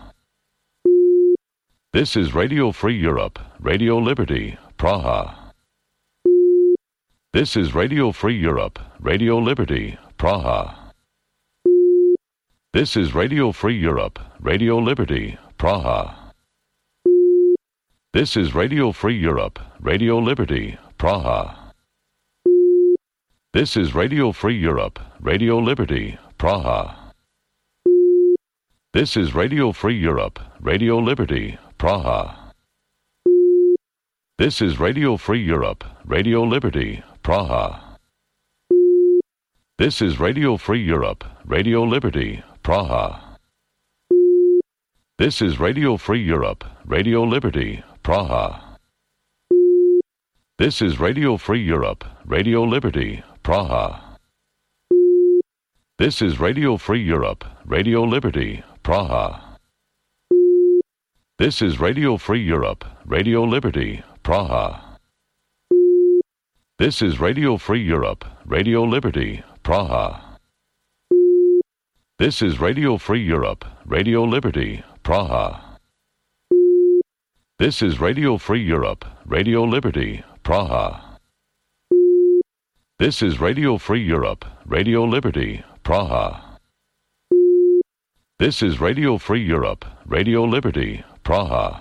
Speaker 1: This is Radio Free Europe, Radio Liberty, Praha. This is Radio Free Europe, Radio Liberty, Praha. This is Radio Free Europe, Radio Liberty, Praha. This is Radio Free Europe, Radio Liberty, Praha. This is Radio Free Europe, Radio Liberty, Praha. This is Radio Free Europe, Radio Liberty, Praha. This is Radio Free Europe, Radio Liberty, Praha. This is Radio Free Europe, Radio Liberty, Praha. This is Radio Free Europe, Radio Liberty, Praha. This is Radio Free Europe, Radio Liberty, Praha. This is Radio Free Europe, Radio Liberty, Praha. This is Radio Free Europe, Radio Liberty, Praha. This is Radio Free Europe, Radio Liberty, Praha. This is Radio Free Europe, Radio Liberty, Praha. This is Radio Free Europe, Radio Liberty, Praha. This is Radio Free Europe, Radio Liberty, Praha. This is Radio Free Europe, Radio Liberty, Praha.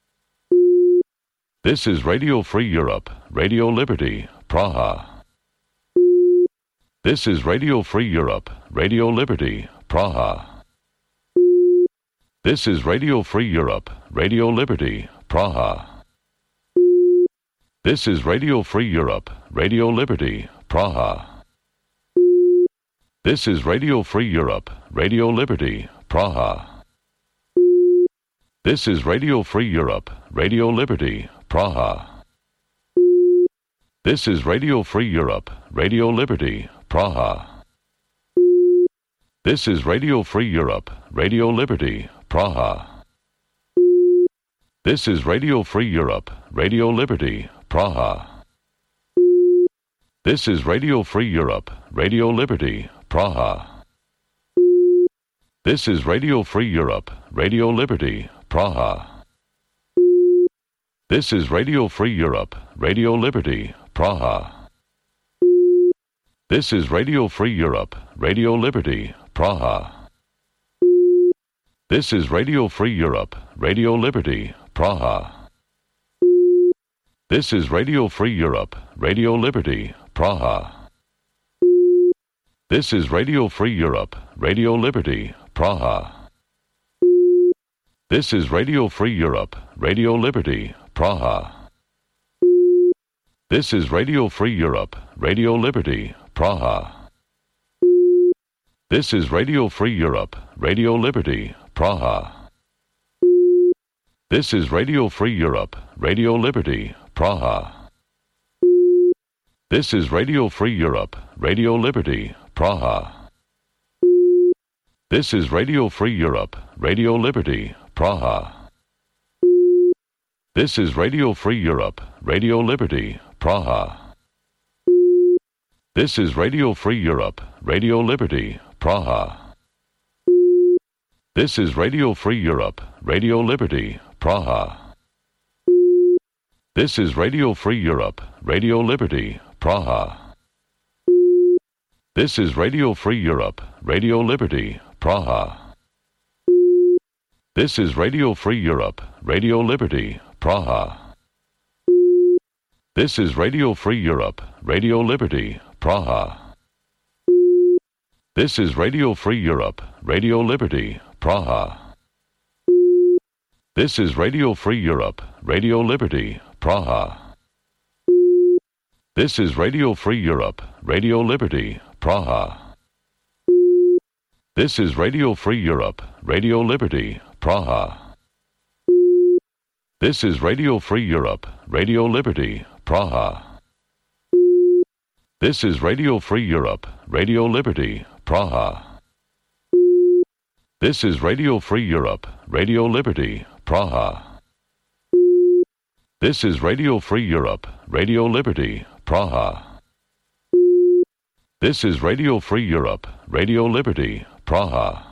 Speaker 1: This is Radio Free Europe, Radio Liberty, Praha. This is Radio Free Europe, Radio Liberty, Praha. This is Radio Free Europe, Radio Liberty, Praha. This is Radio Free Europe, Radio Liberty, Praha. This is Radio Free Europe, Radio Liberty, Praha. This is Radio Free Europe, Radio Liberty, Praha. This is Radio Free Europe, Radio Liberty, Praha. This is Radio Free Europe, Radio Liberty, Praha. This is Radio Free Europe, Radio Liberty, Praha. This is Radio Free Europe, Radio Liberty, Praha. This is Radio Free Europe, Radio Liberty, Praha. This is Radio Free Europe, Radio Liberty, Praha. This is Radio Free Europe, Radio Liberty, Praha. This is Radio Free Europe, Radio Liberty, Praha. This is Radio Free Europe, Radio Liberty, Praha. This is Radio Free Europe, Radio Liberty, Praha. This is Radio Free Europe, Radio Liberty, Praha. This is Radio Free Europe, Radio Liberty, Praha. This is Radio Free Europe, Radio Liberty, Praha. This is Radio Free Europe, Radio Liberty, Praha. This is Radio Free Europe, Radio Liberty, Praha. This is Radio Free Europe, Radio Liberty, Praha. This is Radio Free Europe, Radio Liberty, Praha. This is Radio Free Europe, Radio Liberty, Praha. This is Radio Free Europe, Radio Liberty, Praha. This is Radio Free Europe, Radio Liberty, Praha. This is Radio Free Europe, Radio Liberty, Praha. This is Radio Free Europe, Radio Liberty, Praha. This is Radio Free Europe, Radio Liberty, Praha. This is Radio Free Europe, Radio Liberty, Praha. This is Radio Free Europe, Radio Liberty, Praha. This is Radio Free Europe, Radio Liberty, Praha. This is Radio Free Europe, Radio Liberty, Praha. This is Radio Free Europe, Radio Liberty, Praha. This is Radio Free Europe, Radio Liberty, Praha. This is Radio Free Europe, Radio Liberty, Praha. This is Radio Free Europe, Radio Liberty, Praha. This is Radio Free Europe, Radio Liberty, Praha.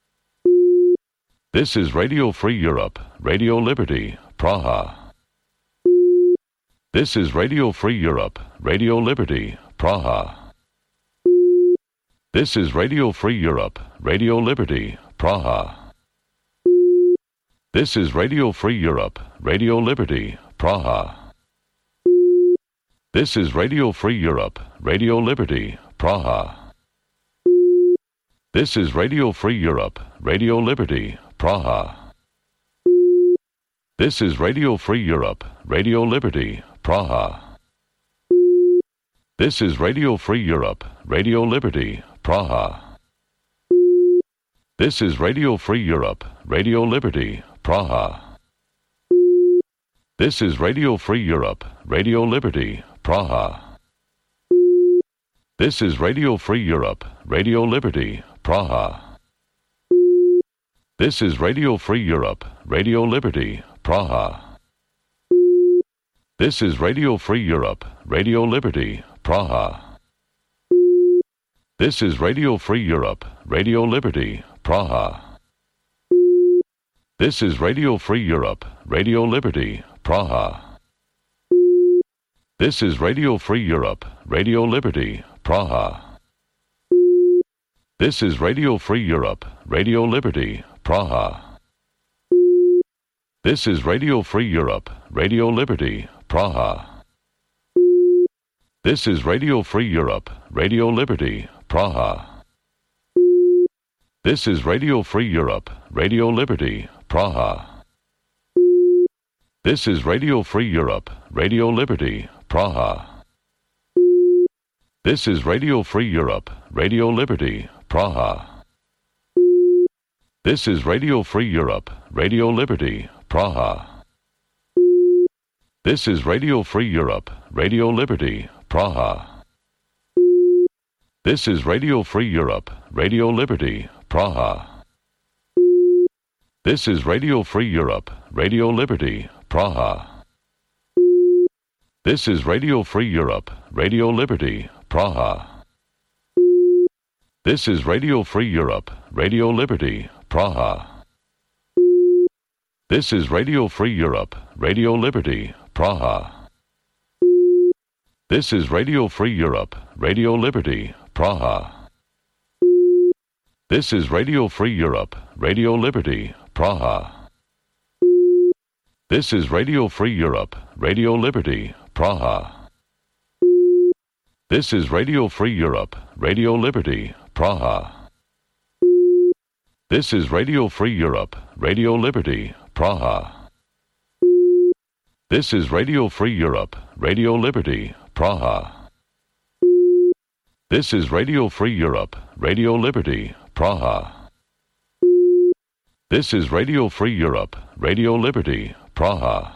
Speaker 1: This is Radio Free Europe, Radio Liberty, Praha. This is Radio Free Europe, Radio Liberty, Praha. This is Radio Free Europe, Radio Liberty, Praha. This is Radio Free Europe, Radio Liberty, Praha. This is Radio Free Europe, Radio Liberty, Praha. This is Radio Free Europe, Radio Liberty, Praha. This is Radio Free Europe, Radio Liberty, Praha. This is Radio Free Europe, Radio Liberty, Praha. This is Radio Free Europe, Radio Liberty, Praha. This is Radio Free Europe, Radio Liberty, Praha. This is Radio Free Europe, Radio Liberty, Praha. This is Radio Free Europe, Radio Liberty, Praha. This is Radio Free Europe, Radio Liberty, Praha. This is Radio Free Europe, Radio Liberty, Praha. This is Radio Free Europe, Radio Liberty, Praha. This is Radio Free Europe, Radio Liberty, Praha. This is Radio Free Europe, Radio Liberty, Praha. This is Radio Free Europe, Radio Liberty, Praha. This is Radio Free Europe, Radio Liberty, Praha. This is Radio Free Europe, Radio Liberty, Praha. This is Radio Free Europe, Radio Liberty, Praha. This is Radio Free Europe, Radio Liberty, Praha. This is Radio Free Europe, Radio Liberty, Praha. This is Radio Free Europe, Radio Liberty, Praha. This is Radio Free Europe, Radio Liberty, Praha. This is Radio Free Europe, Radio Liberty, Praha. This is Radio Free Europe, Radio Liberty, Praha. This is Radio Free Europe, Radio Liberty, Praha. This is Radio Free Europe, Radio Liberty, Praha. This is Radio Free Europe, Radio Liberty, Praha. This is Radio Free Europe, Radio Liberty, Praha. This is Radio Free Europe, Radio Liberty, Praha. This is Radio Free Europe, Radio Liberty, Praha. This is Radio Free Europe, Radio Liberty, Praha. This is Radio Free Europe, Radio Liberty, Praha. This is Radio Free Europe, Radio Liberty, Praha. This is Radio Free Europe, Radio Liberty, Praha.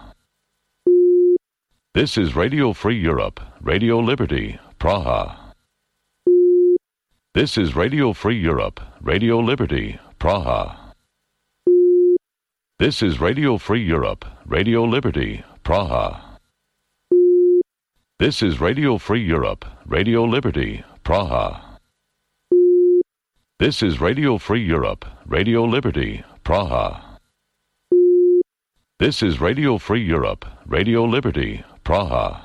Speaker 1: This is Radio Free Europe, Radio Liberty, Praha. This is Radio Free Europe, Radio Liberty, Praha. This is Radio Free Europe, Radio Liberty, Praha. This is Radio Free Europe, Radio Liberty, Praha. This is Radio Free Europe, Radio Liberty, Praha. This is Radio Free Europe, Radio Liberty, Praha.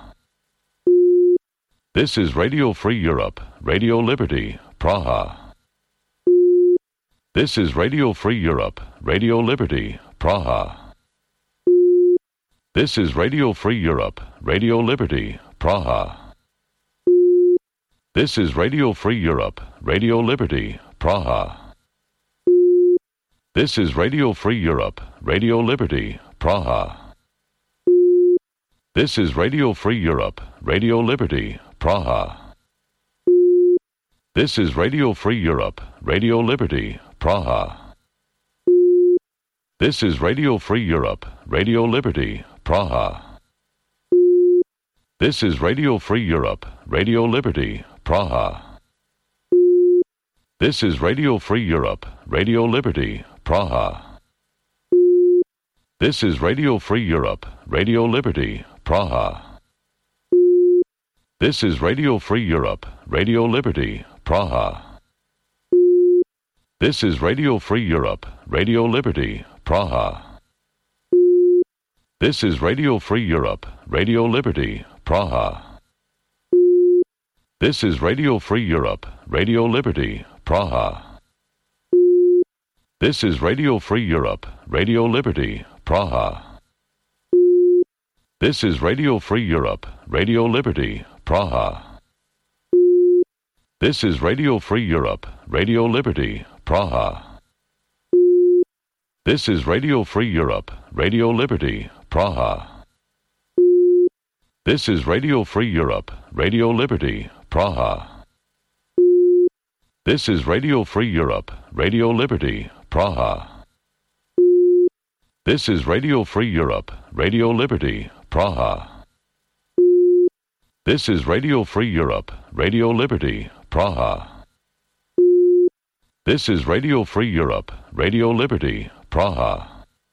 Speaker 1: This is Radio Free Europe, Radio Liberty, Praha. This is Radio Free Europe, Radio Liberty, Praha. This is Radio Free Europe, Radio Liberty, Praha. This is Radio Free Europe, Radio Liberty, Praha. This is Radio Free Europe, Radio Liberty, Praha. This is Radio Free Europe, Radio Liberty, Praha. This is Radio Free Europe, Radio Liberty, Praha. This is Radio Free Europe, Radio Liberty, Praha. This is Radio Free Europe, Radio Liberty, Praha. This is Radio Free Europe, Radio Liberty, Praha. This is Radio Free Europe, Radio Liberty, Praha. This is Radio Free Europe, Radio Liberty, Praha. This is Radio Free Europe, Radio Liberty, Praha. This is Radio Free Europe, Radio Liberty, Praha. This is Radio Free Europe, Radio Liberty, Praha. This is Radio Free Europe, Radio Liberty, Praha. This is Radio Free Europe, Radio Liberty, Praha. This is Radio Free Europe, Radio Liberty, Praha. This is Radio Free Europe, Radio Liberty, Praha. This is Radio Free Europe, Radio Liberty, Praha. This is Radio Free Europe, Radio Liberty, Praha. This is Radio Free Europe, Radio Liberty, Praha. This is Radio Free Europe, Radio Liberty, Praha. This is Radio Free Europe, Radio Liberty, Praha.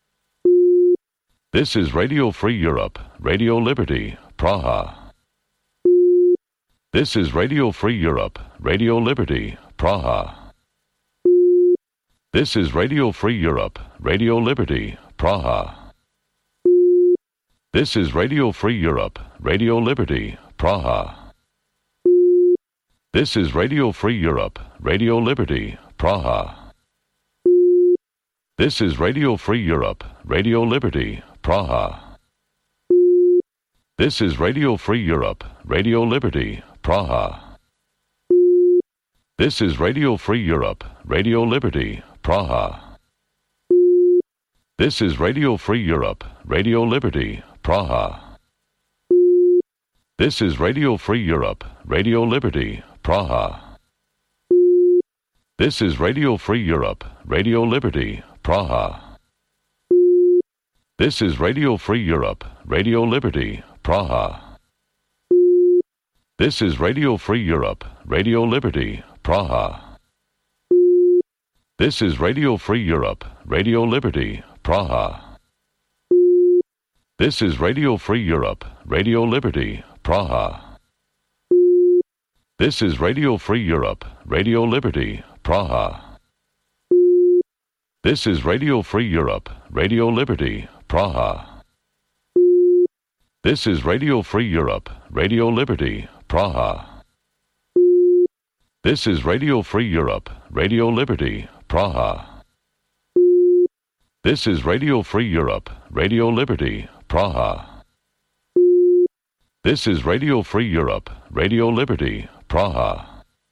Speaker 1: This is Radio Free Europe, Radio Liberty, Praha. This is Radio Free Europe, Radio Liberty, Praha. This is Radio Free Europe, Radio Liberty, Praha. This is Radio Free Europe, Radio Liberty, Praha. This is Radio Free Europe, Radio Liberty, Praha. This is Radio Free Europe, Radio Liberty, Praha. This is Radio Free Europe, Radio Liberty, Praha. This is Radio Free Europe, Radio Liberty, Praha. This is Radio Free Europe, Radio Liberty, Praha. This is Radio Free Europe, Radio Liberty, Praha. This is Radio Free Europe, Radio Liberty, Praha. This is Radio Free Europe, Radio Liberty, Praha. This is Radio Free Europe, Radio Liberty, Praha. This is Radio Free Europe, Radio Liberty, Praha. This is Radio Free Europe, Radio Liberty, Praha. This is Radio Free Europe, Radio Liberty, Praha. This is Radio Free Europe, Radio Liberty, Praha. This is Radio Free Europe, Radio Liberty, Praha. This is Radio Free Europe, Radio Liberty, Praha. This is Radio Free Europe, Radio Liberty, Praha. This is Radio Free Europe, Radio Liberty, Praha.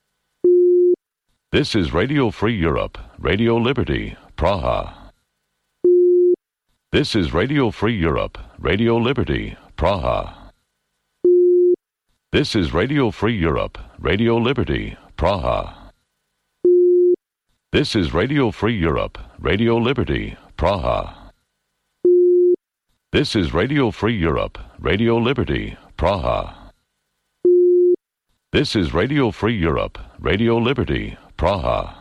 Speaker 1: This is Radio Free Europe, Radio Liberty, Praha. This is Radio Free Europe, Radio Liberty, Praha. This is Radio Free Europe, Radio Liberty, Praha. This is Radio Free Europe, Radio Liberty, Praha. This is Radio Free Europe, Radio Liberty, Praha. This is Radio Free Europe, Radio Liberty, Praha.